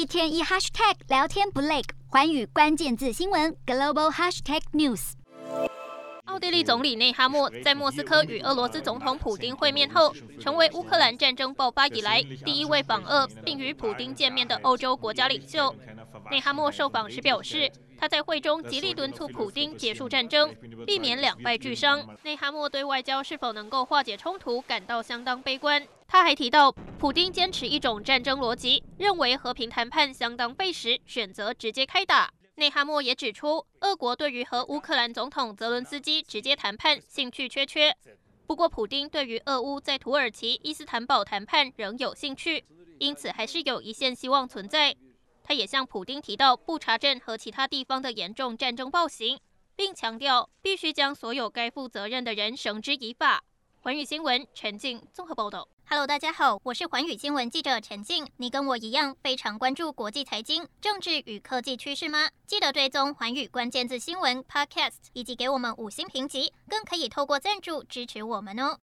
天一 hashtag 聊天不累，寰宇關鍵字新聞 global hashtag news。 奧地利總理內哈默在莫斯科與俄羅斯總統普丁會面後，成為烏克蘭戰爭爆發以來第一位訪俄並與普丁見面的歐洲國家領袖。內哈默受訪時表示，他在會中極力敦促普丁結束戰爭，避免兩敗俱傷。內哈默對外交是否能夠化解衝突感到相當悲觀。他還提到，普丁堅持一種戰爭邏輯，認為和平談判相當費時，選擇直接開打。內哈默也指出，俄國對於和烏克蘭總統澤倫斯基直接談判興趣缺。不過，普丁對於俄烏在土耳其伊斯坦堡談判仍有興趣，因此還是有一線希望存在。他也向普丁提到布查鎮和其他地方的嚴重戰爭暴行，並強調必須將所有該負責任的人繩之以法。寰宇新聞陳靜綜合報道。 Hello， 大家好，我是寰宇新聞記者陳靜。你跟我一樣非常關注國際財經、政治與科技趨勢嗎？記得追蹤寰宇關鍵字新聞 Podcast， 以及給我們5星評級，更可以透過贊助支持我們哦。